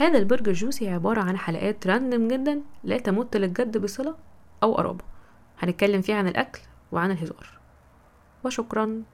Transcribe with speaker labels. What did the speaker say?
Speaker 1: هذا البرج الجوسي عبارة عن حلقات راندم جدا لا تمت للجد بصلة أو قرابة، هنتكلم فيها عن الأكل وعن الهزار. وشكرا.